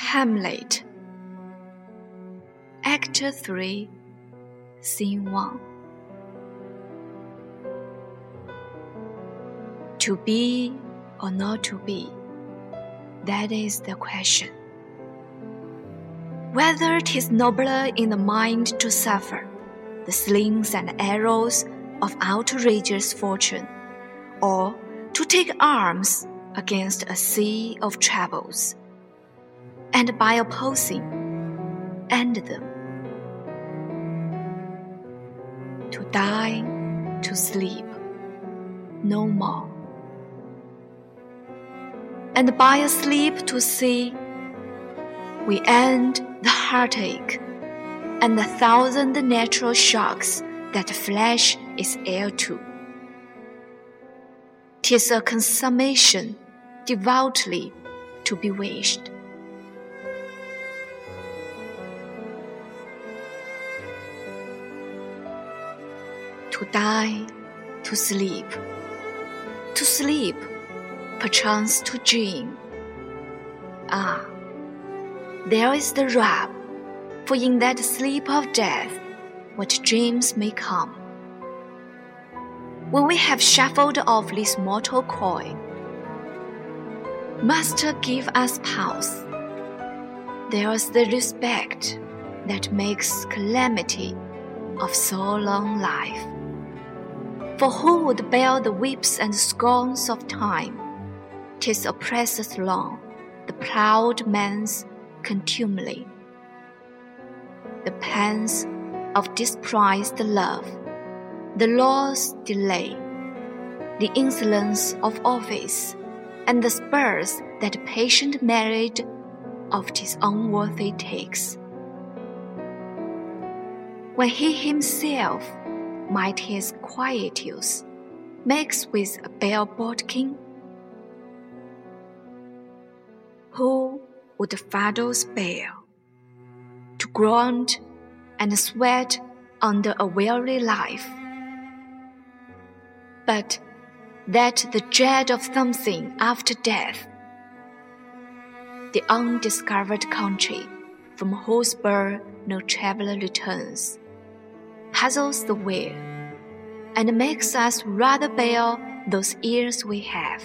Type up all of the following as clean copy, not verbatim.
Hamlet, Act 3, Scene 1. To be or not to be, that is the question. Whether it is nobler in the mind to suffer the slings and arrows of outrageous fortune, or to take arms against a sea of troubles, and by opposing, end them. To die, to sleep, no more. And by a sleep to see, we end the heartache and the thousand natural shocks that flesh is heir to. 'Tis a consummation devoutly to be wished. To die, to sleep, perchance to dream. Ah, there is the rub, for in that sleep of death, what dreams may come. When we have shuffled off this mortal coil, Master, give us pulse. There is the respect that makes calamity of so long life. For who would bear the whips and scorns of time? 'Tis oppresseth long the proud man's contumely. The pangs of disprized love, the law's delay, the insolence of office, and the spurs that patient merit of 'tis unworthy takes. When he himself might his quietudes makes with a bare bodkin, who would fathers bear, to grunt and sweat under a weary life? But that the dread of something after death, the undiscovered country from whose birth no traveler returns, puzzles the will, and makes us rather bear those ears we have,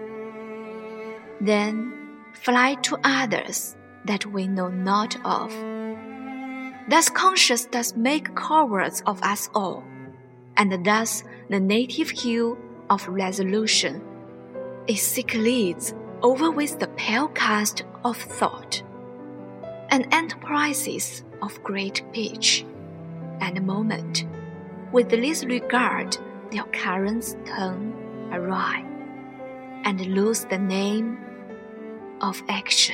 then fly to others that we know not of. Thus conscience does make cowards of us all, and thus the native hue of resolution is sick leads over with the pale cast of thought, and enterprises of great pitch and moment, with this regard their currents turn awry, and lose the name of action.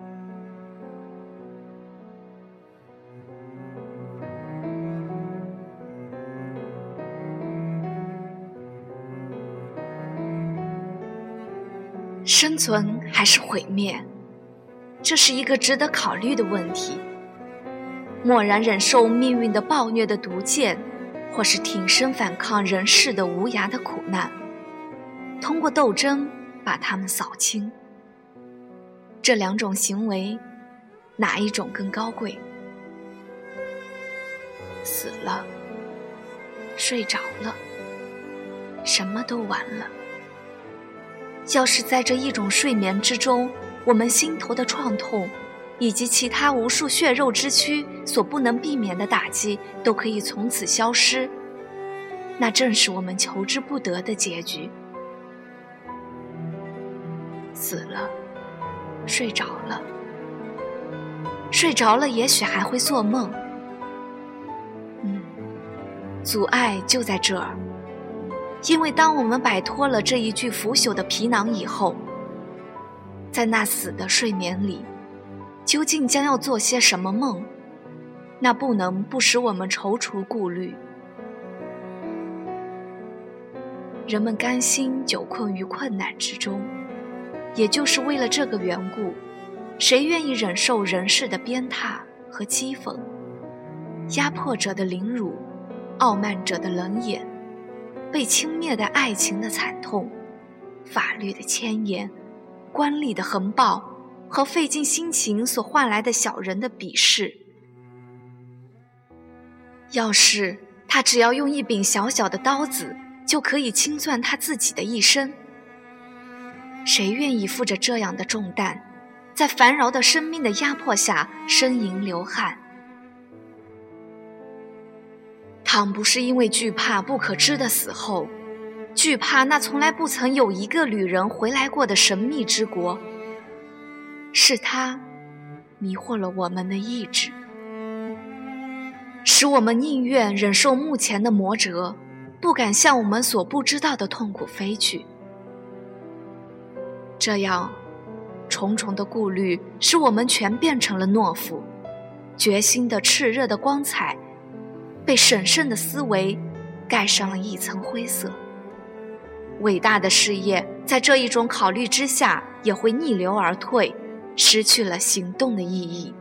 生存还是毁灭，这是一个值得考虑的问题。默然忍受命运的暴虐的毒箭，或是挺身反抗人世的无涯的苦难，通过斗争把它们扫清。这两种行为，哪一种更高贵？死了，睡着了，什么都完了。要是在这一种睡眠之中，我们心头的创痛以及其他无数血肉之躯所不能避免的打击都可以从此消失，那正是我们求之不得的结局。死了，睡着了，睡着了也许还会做梦。阻碍就在这儿，因为当我们摆脱了这一具腐朽的皮囊以后，在那死的睡眠里，究竟将要做些什么梦，那不能不使我们踌躇顾虑。人们甘心久困于困难之中，也就是为了这个缘故，谁愿意忍受人世的鞭挞和讥讽，压迫者的凌辱，傲慢者的冷眼，被轻蔑的爱情的惨痛，法律的牵延，官吏的横暴， 和费尽心情所换来的小人的鄙视。要是他只要用一柄小小的刀子，就可以清算他自己的一生，谁愿意负着这样的重担，在烦扰的生命的压迫下呻吟流汗？倘不是因为惧怕不可知的死后，惧怕那从来不曾有一个旅人回来过的神秘之国，是它迷惑了我们的意志，使我们宁愿忍受目前的磨折，不敢向我们所不知道的痛苦飞去。这样重重的顾虑使我们全变成了懦夫，决心的炽热的光彩被审慎的思维盖上了一层灰色。伟大的事业在这一种考虑之下也会逆流而退，失去了行动的意义。